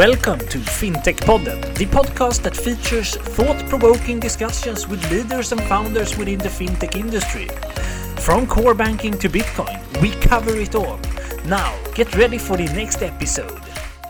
Welcome to FinTech-podden, the podcast that features thought-provoking discussions with leaders and founders within the fintech industry. From core banking to Bitcoin, we cover it all. Now, get ready for the next episode.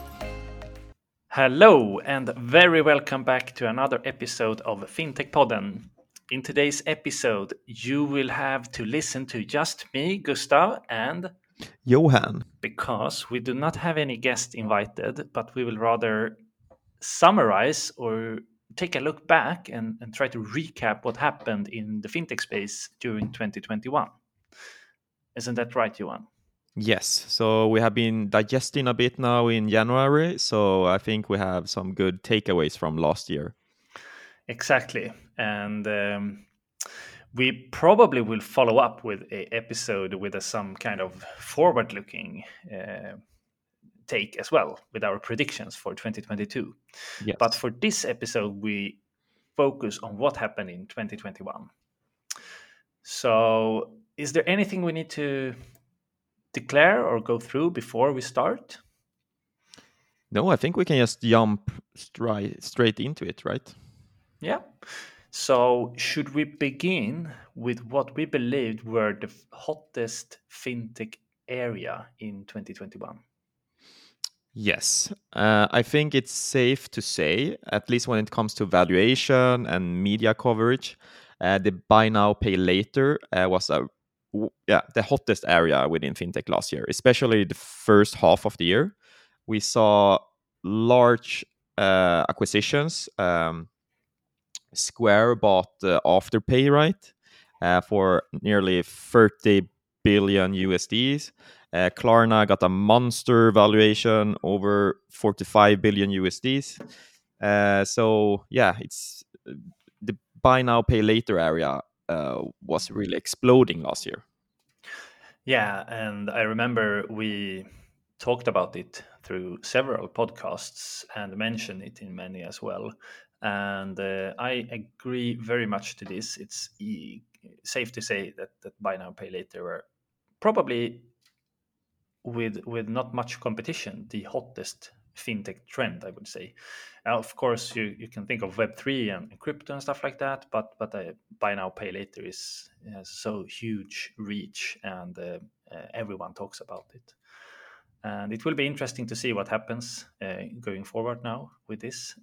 Hello, and very welcome back to another episode of FinTech-podden. In today's episode, you will have to listen to just me, Gustav, and Johan. Because we do not have any guests invited, but we will rather summarize or take a look back and try to recap what happened in the fintech space during 2021. Isn't that right, Johan? Yes, so we have been digesting a bit now in January, so I think we have some good takeaways from last year. Exactly. And we probably will follow up with an episode with some kind of forward-looking take as well with our predictions for 2022. Yes. But for this episode, we focus on what happened in 2021. So, is there anything we need to declare or go through before we start? No, I think we can just jump straight into it, right? Yeah. So, should we begin with what we believed were the hottest fintech area in 2021? Yes, I think it's safe to say, at least when it comes to valuation and media coverage, the buy now, pay later was the hottest area within fintech last year, especially the first half of the year. We saw large acquisitions. Square bought Afterpay, right, for nearly 30 billion USDs. Klarna got a monster valuation over 45 billion USDs. So yeah, it's the buy now pay later area was really exploding last year. Yeah, and I remember we talked about it through several podcasts and mentioned it in many as well. And I agree very much to this. It's safe to say that buy now pay later were probably with not much competition the hottest fintech trend, I would say. Of course, you can think of Web3 and crypto and stuff like that, but buy now pay later has so huge reach, and everyone talks about it. And it will be interesting to see what happens going forward now with this.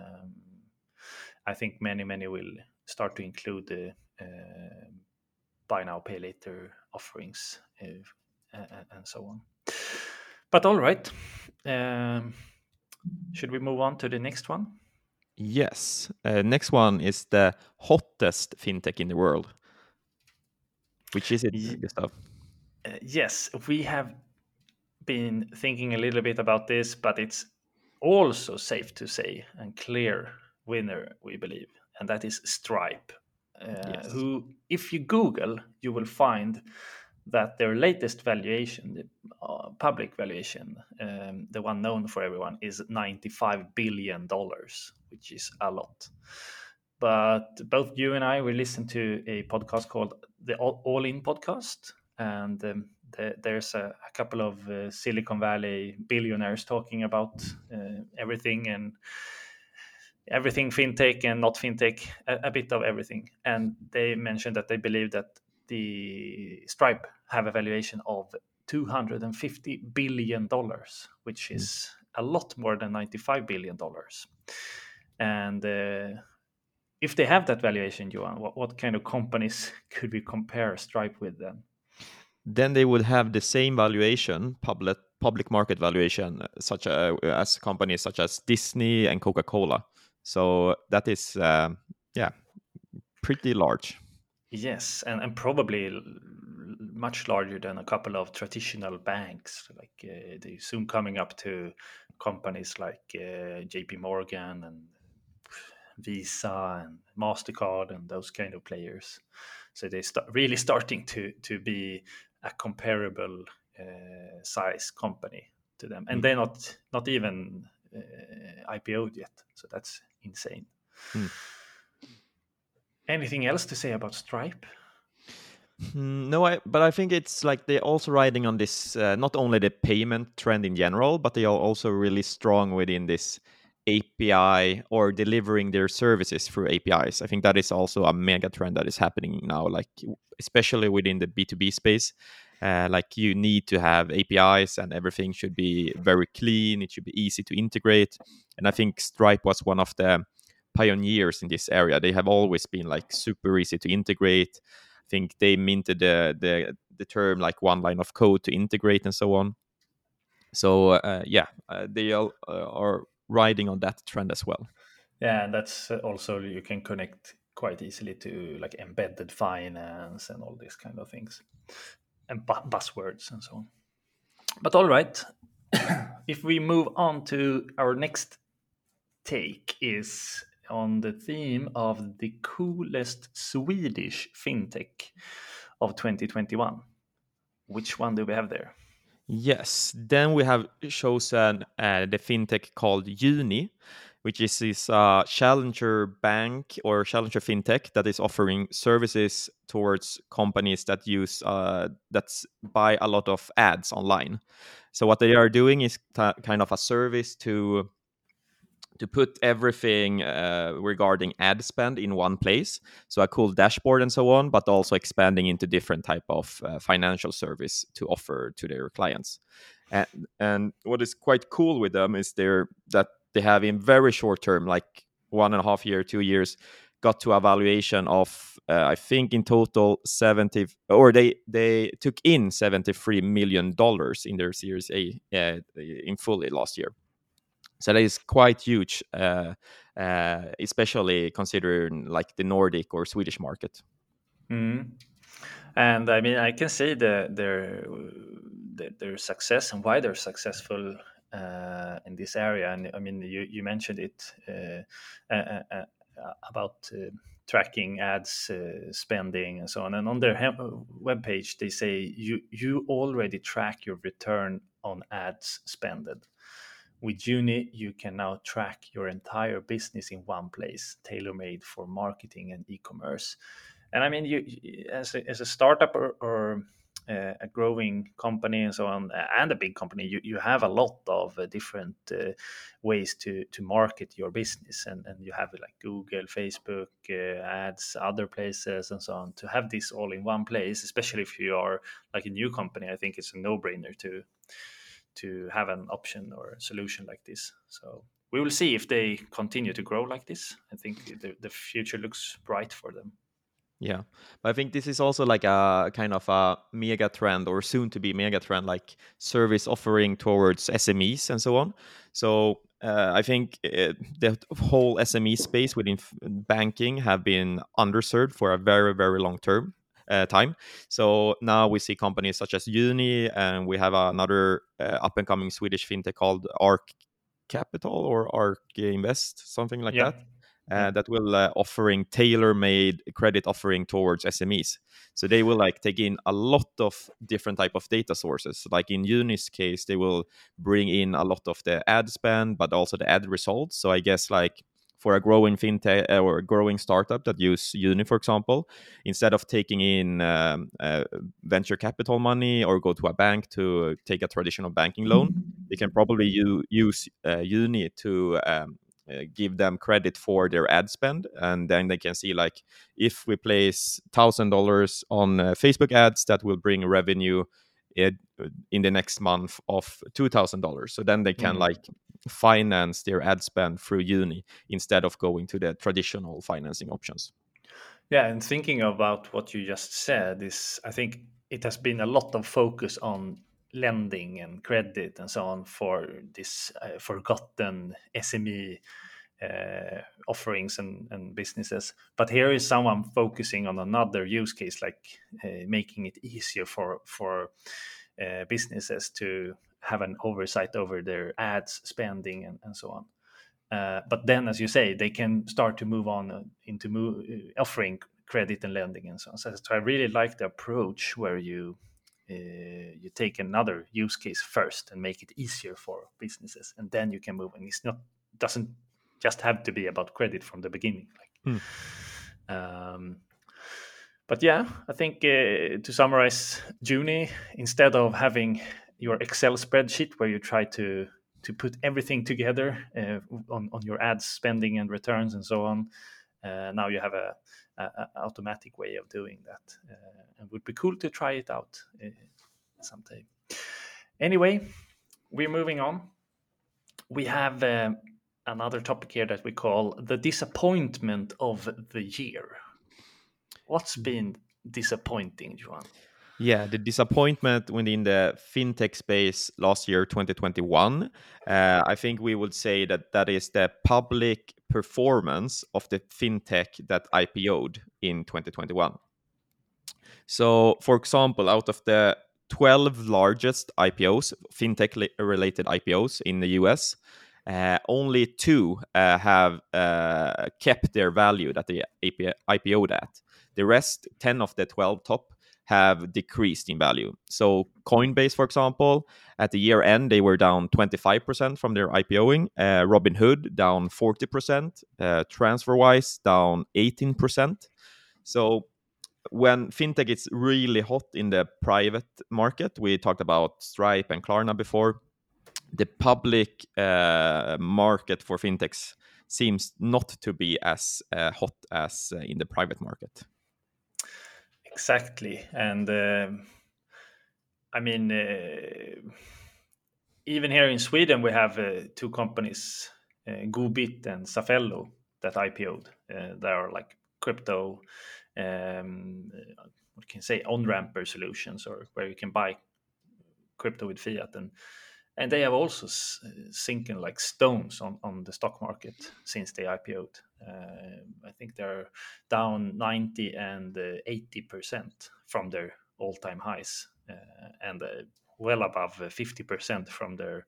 I think many will start to include the buy now pay later offerings and so on. But all right, should we move on to the next one? Yes. Next one is the hottest fintech in the world. Which is it, Gustav? Yes, we have been thinking a little bit about this, but it's also safe to say and clear winner, we believe, and that is Stripe. Yes. Who, if you Google, you will find that their latest valuation, the public valuation, the one known for everyone, is $95 billion, which is a lot. But both you and I, we listened to a podcast called the All In podcast, and there's a couple of Silicon Valley billionaires talking about everything and everything fintech and not fintech, a bit of everything. And they mentioned that they believe that the Stripe have a valuation of $250 billion, which is a lot more than $95 billion. And if they have that valuation, Johan, what kind of companies could we compare Stripe with then? Then they would have the same valuation, public market valuation, such as companies such as Disney and Coca-Cola. So that is, pretty large. Yes, and probably much larger than a couple of traditional banks. Like they're soon coming up to companies like JP Morgan and Visa and MasterCard and those kind of players. So they really starting to be a comparable size company to them, and they're not even IPO'd yet. So that's insane. Anything else to say about Stripe? No, but I think it's like they're also riding on this, not only the payment trend in general, but they are also really strong within this API or delivering their services through APIs. I think that is also a mega trend that is happening now, like especially within the B2B space. Like you need to have APIs and everything should be very clean. It should be easy to integrate. And I think Stripe was one of the pioneers in this area. They have always been like super easy to integrate. I think they minted the term like one line of code to integrate and so on. So yeah, they all, are riding on that trend as well. Yeah, and that's also you can connect quite easily to like embedded finance and all these kind of things, and buzzwords and so on. But all right, if we move on to our next take is on the theme of the coolest Swedish fintech of 2021. Which one do we have there? Yes, then we have chosen the fintech called Uni, which is this challenger bank or challenger fintech that is offering services towards companies that use that's buy a lot of ads online. So what they are doing is kind of a service to put everything regarding ad spend in one place, so a cool dashboard and so on, but also expanding into different type of financial service to offer to their clients. And what is quite cool with them is that they have in very short term, like 1.5 year 2 years, got to a valuation of I think in total 70, or they took in $73 million in their Series A in fully last year. So that is quite huge, especially considering like the Nordic or Swedish market. Mm. And I mean, I can see their success and why they're successful in this area. And I mean, you mentioned it about tracking ads spending and so on. And on their webpage, they say you already track your return on ads spended. With Uni, you can now track your entire business in one place, tailor made for marketing and e commerce. And I mean, as a startup or a growing company and so on, and a big company, you have a lot of different ways to market your business, and you have like Google, Facebook, ads, other places, and so on. To have this all in one place, especially if you are like a new company, I think it's a no-brainer to have an option or a solution like this. So we will see if they continue to grow like this. I think the future looks bright for them. Yeah, but I think this is also like a kind of a mega trend or soon to be mega trend, like service offering towards SMEs and so on. So I think the whole SME space within banking have been underserved for a very very long term time. So now we see companies such as Uni, and we have another up and coming Swedish fintech called Arc Capital or Arc Invest, something like Yeah, that, yeah. that will offering tailor-made credit offering towards SMEs. So they will like take in a lot of different type of data sources. Like in Uni's case, they will bring in a lot of the ad spend, but also the ad results. So I guess like for a growing fintech or a growing startup that use Uni, for example, instead of taking in venture capital money or go to a bank to take a traditional banking loan, they can probably use Uni to give them credit for their ad spend, and then they can see like if we place $1,000 on Facebook ads, that will bring revenue in, in the next month of $2,000. So then they can Mm. like finance their ad spend through Uni instead of going to the traditional financing options. Yeah, and thinking about what you just said is, I think it has been a lot of focus on lending and credit and so on for this forgotten SME offerings and businesses. But here is someone focusing on another use case, like making it easier for businesses to have an oversight over their ads spending and so on. But then, as you say, they can start to move on into offering credit and lending and so on. So I really like the approach where you take another use case first and make it easier for businesses, and then you can move. And it's not doesn't just have to be about credit from the beginning. Hmm. Um, But yeah, I think to summarize, Juni, instead of having your Excel spreadsheet where you try to put everything together on your ads spending and returns and so on, now you have a automatic way of doing that, and would be cool to try it out someday. Anyway, we're moving on. We have another topic here that we call the disappointment of the year. What's been disappointing, Johan? Yeah, the disappointment within the fintech space last year, 2021, I think we would say that that is the public performance of the fintech that IPO'd in 2021. So, for example, out of the 12 largest IPOs, fintech related IPOs in the US, only two have kept their value that they IPO'd at. The rest, 10 of the 12 top, have decreased in value. So, Coinbase, for example, at the year end, they were down 25% from their IPOing. Robinhood down 40%. TransferWise down 18%. So, when fintech is really hot in the private market, we talked about Stripe and Klarna before. The public market for fintechs seems not to be as hot as in the private market. Exactly, and I mean, even here in Sweden, we have two companies, Gobit and Safello, that IPO'd. They are like crypto, what can you say, on-ramper solutions, or where you can buy crypto with fiat, and they have also sinking like stones on the stock market since they IPO'd. I think they're down 90 and 80% from their all-time highs, and well above 50% from their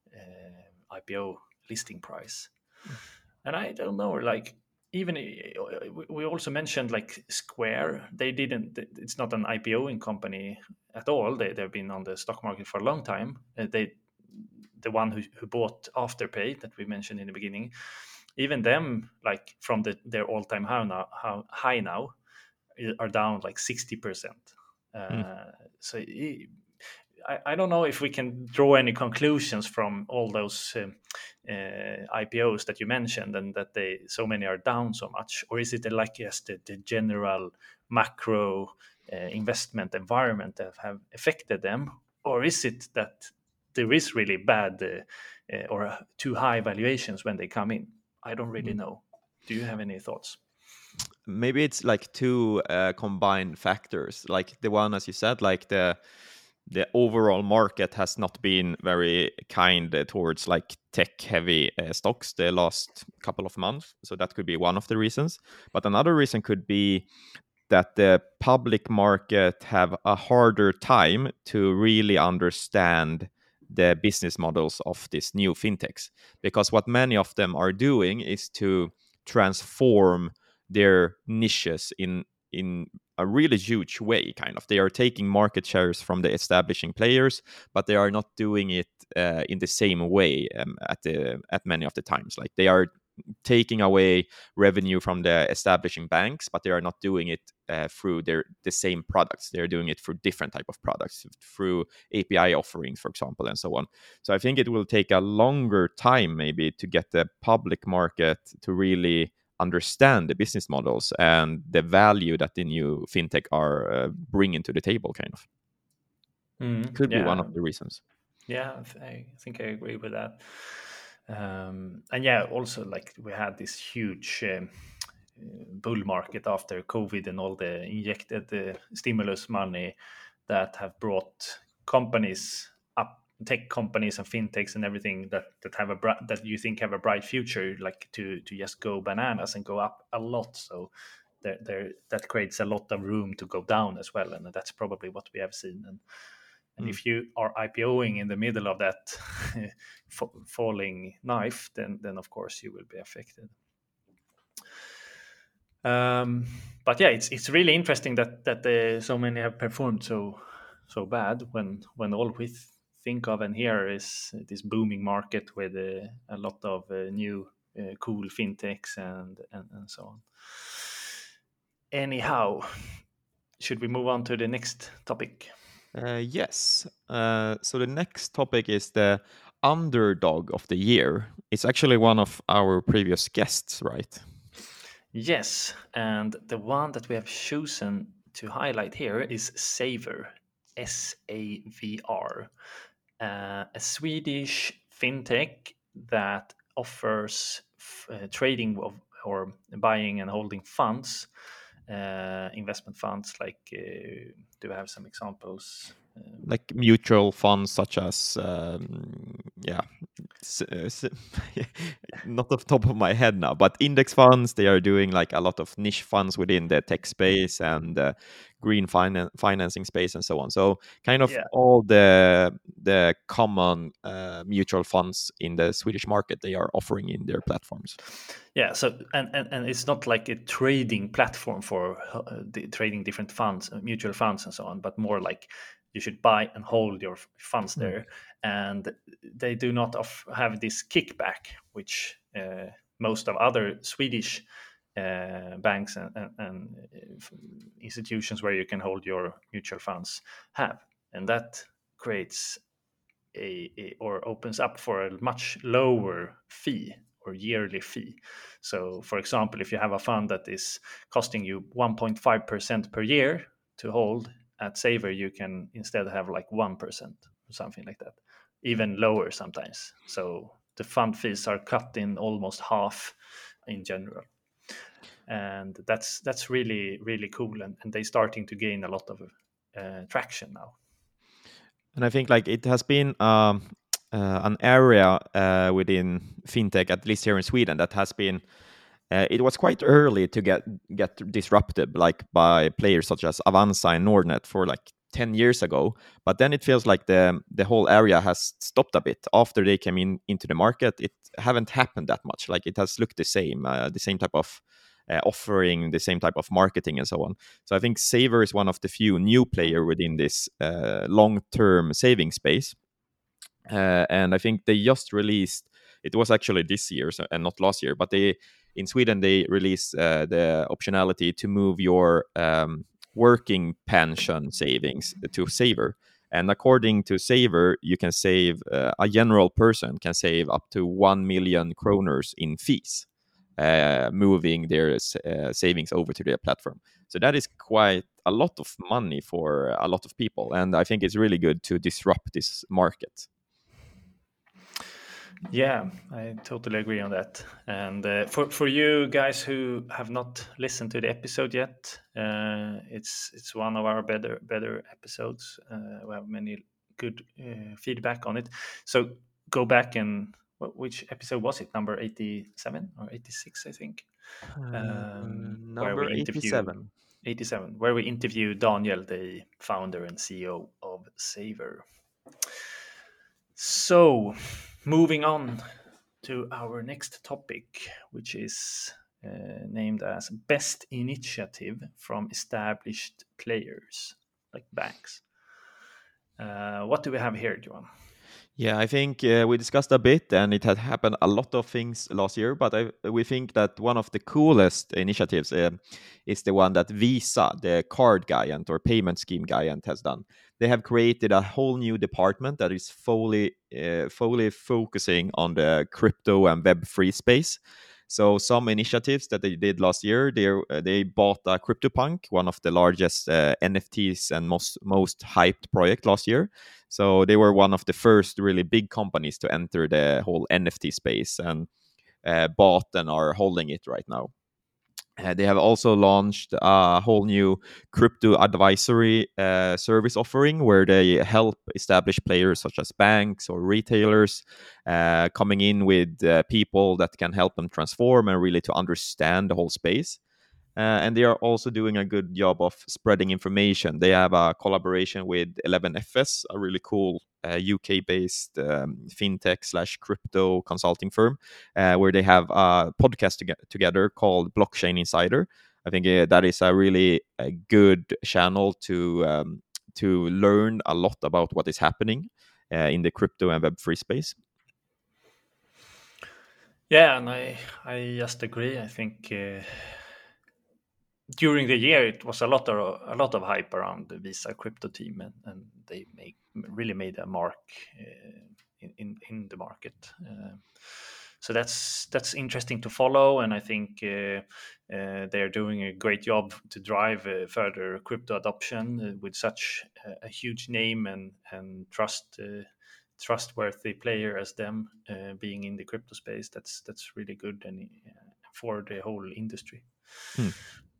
IPO listing price. And I don't know, like, even we also mentioned like Square. They didn't. It's not an IPOing company at all. They've been on the stock market for a long time. The one who bought Afterpay that we mentioned in the beginning, even them, like from their all-time high now, are down like 60%. Mm. So I don't know if we can draw any conclusions from all those IPOs that you mentioned, and that they so many are down so much, or is it like just the general macro investment environment that have affected them, or is it that there is really bad or too high valuations when they come in? I don't really Mm. know. Do you have any thoughts? Maybe it's like two combined factors, like the one, as you said, like the overall market has not been very kind towards like tech heavy stocks the last couple of months, so that could be one of the reasons. But another reason could be that the public market have a harder time to really understand the business models of these new fintechs, because what many of them are doing is to transform their niches in a really huge way. Kind of, they are taking market shares from the establishing players, but they are not doing it in the same way at many of the times. Like, they are taking away revenue from the establishing banks, but they are not doing it through the same products. They're doing it through different type of products, through API offerings, for example, and so on. So I think it will take a longer time maybe to get the public market to really understand the business models and the value that the new fintech are bringing to the table. Kind of could be one Yeah, of the reasons. yeah, I think I agree with that. And yeah, also like we had this huge bull market after COVID and all the injected stimulus money that have brought companies up, tech companies and fintechs and everything that have that you think have a bright future, like to just go bananas and go up a lot. So that creates a lot of room to go down as well, and that's probably what we have seen. And Mm. if you are IPOing in the middle of that falling knife, then of course you will be affected. But yeah, it's really interesting that so many have performed so bad when all we think of and hear is this booming market with a lot of new cool fintechs and so on. Anyhow, should we move on to the next topic? Yes. So the next topic is the underdog of the year. It's actually one of our previous guests, right? Yes, and the one that we have chosen to highlight here is Savr, SAVR, a Swedish fintech that offers trading of or buying and holding funds, investment funds. Like, do we have some examples? Like mutual funds such as yeah, not off the top of my head now, but index funds. They are doing like a lot of niche funds within the tech space and green financing space and so on. So kind of Yeah, all the common mutual funds in the Swedish market they are offering in their platforms. yeah. So and it's not like a trading platform for trading different funds, mutual funds, and so on, but more like you should buy and hold your funds Mm. there, and they do not have this kickback, which most of other Swedish banks and institutions where you can hold your mutual funds have, and that creates or opens up for a much lower fee or yearly fee. So, for example, if you have a fund that is costing you 1.5% per year to hold at Savr, you can instead have like 1% or something like that, even lower sometimes. So the fund fees are cut in almost half in general, and that's really really cool, and they're starting to gain a lot of traction now. And I think like it has been an area within fintech, at least here in Sweden, that has been. It was quite early to get disrupted, like by players such as Avanza and Nordnet for like 10 years ago. But then it feels like the whole area has stopped a bit after they came into the market. It haven't happened that much. Like it has looked the same type of offering, the same type of marketing, and so on. So I think Savr is one of the few new player within this long-term saving space. And I think they just released. It was actually this year, and not last year. But they in Sweden they released the optionality to move your working pension savings to Savr. And according to Savr, you can save a general person can save up to 1 million kroners in fees, moving their savings over to their platform. So that is quite a lot of money for a lot of people, and I think it's really good to disrupt this market. Yeah, I totally agree on that. And for you guys who have not listened to the episode yet, it's one of our better episodes. We have many good feedback on it. So go back and which episode was it? Number 87 or 86, I think, where Number we interview 87. 87, where we interview Daniel, the founder and CEO of Savr. So, moving on to our next topic, which is named as Best Initiative from Established Players, like banks. What do we have here, Johan? Yeah, I think we discussed a bit, and it had happened a lot of things last year. But we think that one of the coolest initiatives is the one that Visa, the card giant or payment scheme giant, has done. They have created a whole new department that is fully focusing on the crypto and Web3 space. So some initiatives that they did last year, they bought a CryptoPunk, one of the largest NFTs and most hyped project last year. So they were one of the first really big companies to enter the whole NFT space and bought and are holding it right now. They have also launched a whole new crypto advisory service offering where they help established players such as banks or retailers coming in with people that can help them transform and really to understand the whole space. And they are also doing a good job of spreading information. They have a collaboration with 11FS, a really cool UK-based fintech slash crypto consulting firm, where they have a podcast together called Blockchain Insider. I think that is a really good channel to learn a lot about what is happening in the crypto and Web3 space. Yeah, and I just agree. I think during the year, it was a lot of hype around the Visa crypto team, and they really made a mark in the market. So that's interesting to follow, and I think they're doing a great job to drive further crypto adoption with such a huge name and trustworthy player as them being in the crypto space. That's really good and for the whole industry. Hmm.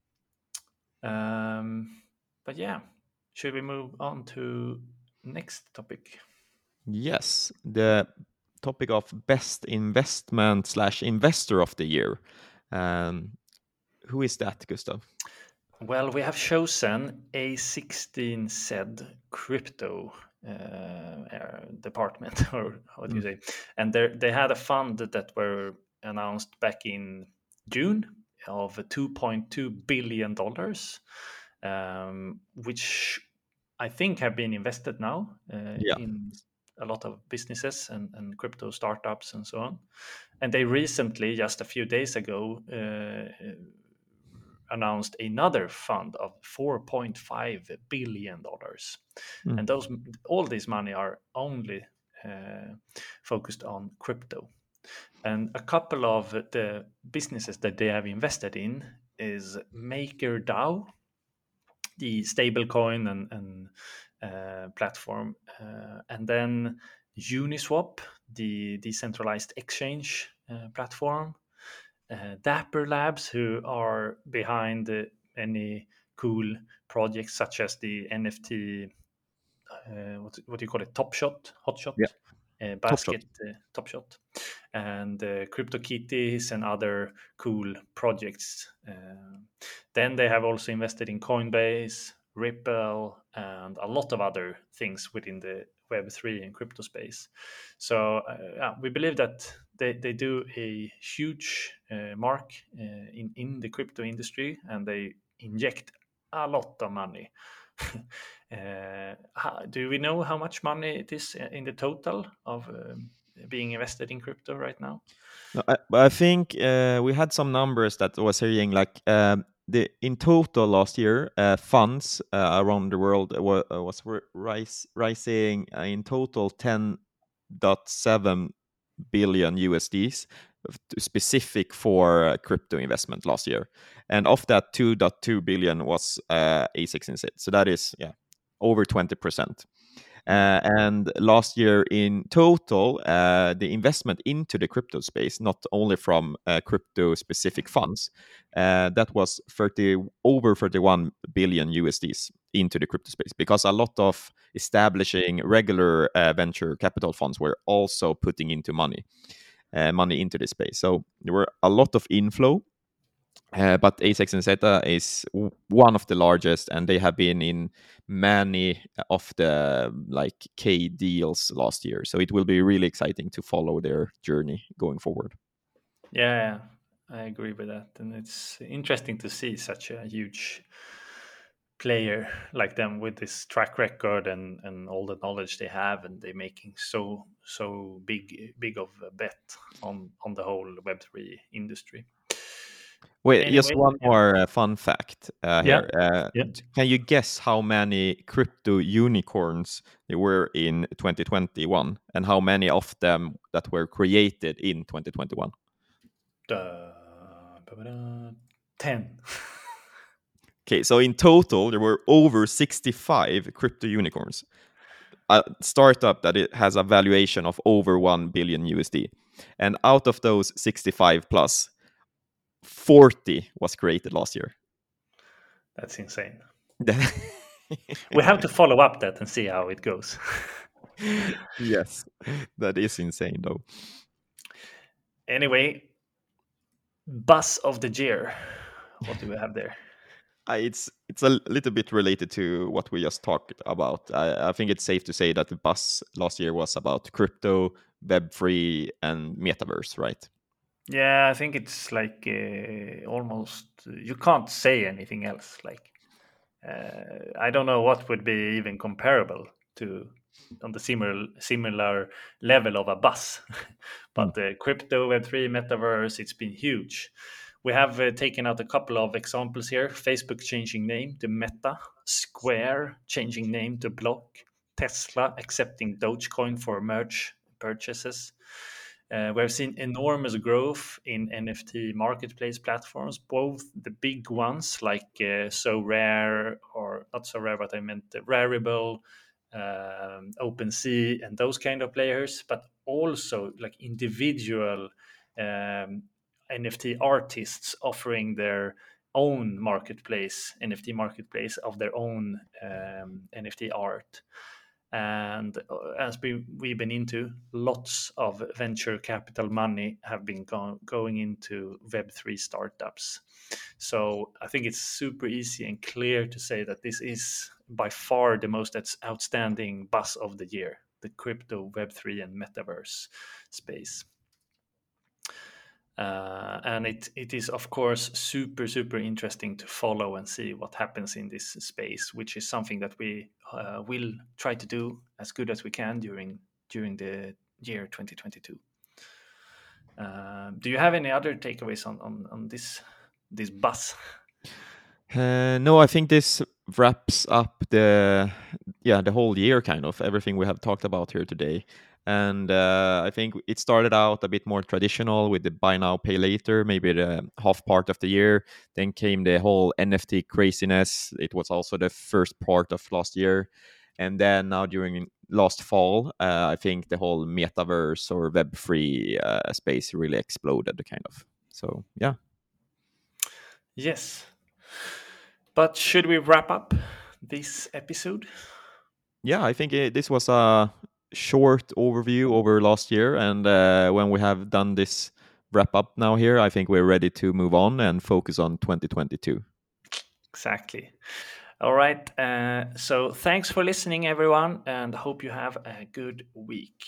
But yeah, should we move on to next topic? Yes, the topic of best investment slash investor of the year. Um, who is that, Gustav? Well, we have chosen A16Z crypto department, or what do you Mm. say? And they had a fund that were announced back in June of $2.2 billion, which I think have been invested now Yeah. in a lot of businesses and crypto startups and so on. And they recently, just a few days ago, announced another fund of $4.5 billion, Mm. and those all this money are only focused on crypto. And a couple of the businesses that they have invested in is MakerDAO, the stablecoin and platform, and then Uniswap, the decentralized exchange platform, Dapper Labs, who are behind many cool projects such as the NFT, what do you call it, Top Shot, Hot Shot, Yeah. Top Shot. Basket, Top Shot, and CryptoKitties and other cool projects. Then they have also invested in Coinbase, Ripple, and a lot of other things within the Web3 and crypto space. So yeah, we believe that they do a huge mark in the crypto industry, and they inject a lot of money. Do we know how much money it is in the total of being invested in crypto right now? No, but I think we had some numbers that was saying like the in total last year funds around the world rising in total 10.7 billion USDs specific for crypto investment last year, and of that 2.2 billion was A16Z. So that is over 20%. And last year in total, the investment into the crypto space, not only from crypto specific funds, that was over 31 billion USDs into the crypto space, because a lot of establishing regular venture capital funds were also putting into money into this space. So there were a lot of inflow, but A16 and Zeta is one of the largest, and they have been in many of the like K deals last year. So it will be really exciting to follow their journey going forward. Yeah, I agree with that, and it's interesting to see such a huge player like them with this track record and all the knowledge they have, and they're making so big of a bet on the whole Web3 industry. Wait, just Anyway, one yeah, more fun fact yeah, here. yeah. Can you guess how many crypto unicorns there were in 2021, and how many of them that were created in 2021? 10. Okay, so in total there were over 65 crypto unicorns. A startup that it has a valuation of over 1 billion USD. And out of those 65 plus, 40 was created last year. That's insane. We have to follow up that and see how it goes. Yes, that is insane though. Anyway, buzz of the year. What do we have there? It's a little bit related to what we just talked about. I think it's safe to say that the buzz last year was about crypto, Web3, and metaverse, right? Yeah, I think it's like almost you can't say anything else. Like I don't know what would be even comparable to on the similar level of a bus, Mm. but the crypto Web3 metaverse, it's been huge. We have taken out a couple of examples here. Facebook changing name to Meta, Square changing name to Block, Tesla accepting Dogecoin for merge purchases. We've seen enormous growth in NFT marketplace platforms, both the big ones like SoRare, or not SoRare, but I meant Rarible, OpenSea, and those kind of players, but also like individual NFT artists offering their own marketplace, NFT marketplace of their own NFT art. And as we've been into, lots of venture capital money have been going into Web3 startups. So I think it's super easy and clear to say that this is by far the most outstanding buzz of the year, the crypto, Web3, and metaverse space. And it is, of course, super interesting to follow and see what happens in this space, which is something that we will try to do as good as we can during the year 2022. Do you have any other takeaways on this buzz? No, I think this wraps up the whole year, kind of everything we have talked about here today. And I think it started out a bit more traditional with the buy now, pay later, maybe the half part of the year. Then came the whole NFT craziness. It was also the first part of last year. And then now during last fall, I think the whole metaverse or Web3 space really exploded, kind of. So, yeah. Yes. But should we wrap up this episode? Yeah, I think this was a short overview over last year, and when we have done this wrap up now here, I think we're ready to move on and focus on 2022. Exactly. All right. So thanks for listening, everyone, and hope you have a good week.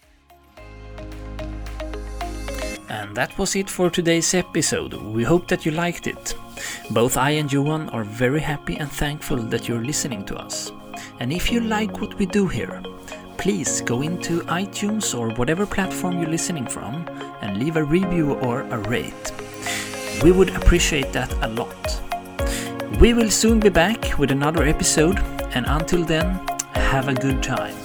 And that was it for today's episode. We hope that you liked it. Both I and Johan are very happy and thankful that you're listening to us. And if you like what we do here, please go into iTunes or whatever platform you're listening from and leave a review or a rate. We would appreciate that a lot. We will soon be back with another episode, and until then, have a good time.